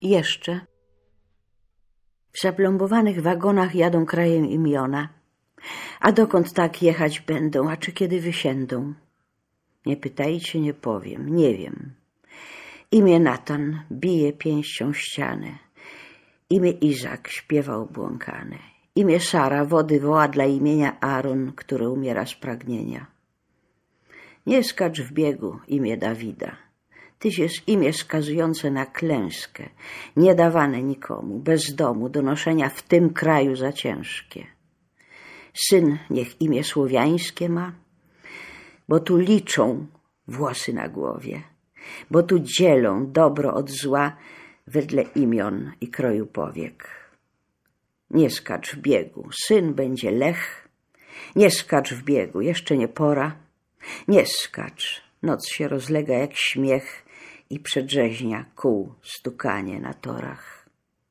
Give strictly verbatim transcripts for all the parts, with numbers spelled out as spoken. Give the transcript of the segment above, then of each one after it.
Jeszcze. W zaplombowanych wagonach jadą krajem imiona. A dokąd tak jechać będą, a czy kiedy wysiędą? Nie pytajcie, nie powiem, nie wiem. Imię Natan bije pięścią ścianę. Imię Izak śpiewa obłąkane. Imię Sara wody woła dla imienia Aaron, które umiera z pragnienia. Nie skacz w biegu, imię Dawida. Tyś jest imię skazujące na klęskę, niedawane nikomu, bez domu, do noszenia w tym kraju za ciężkie. Syn niech imię słowiańskie ma, bo tu liczą włosy na głowie, bo tu dzielą dobro od zła wedle imion i kroju powiek. Nie skacz w biegu, syn będzie Lech, nie skacz w biegu, jeszcze nie pora, nie skacz, noc się rozlega jak śmiech i przedrzeźnia kół stukanie na torach.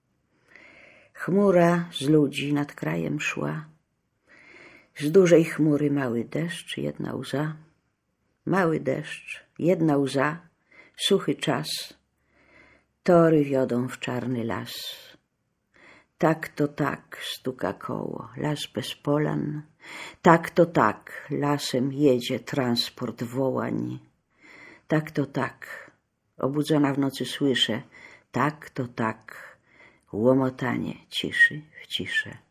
Chmura z ludzi nad krajem szła, z dużej chmury mały deszcz, jedna łza, mały deszcz, jedna łza, suchy czas, tory wiodą w czarny las. Tak to tak stuka koło, las bez polan, tak to tak lasem jedzie transport wołań. Tak to tak, obudzona w nocy słyszę, tak to tak, łomotanie ciszy w ciszę.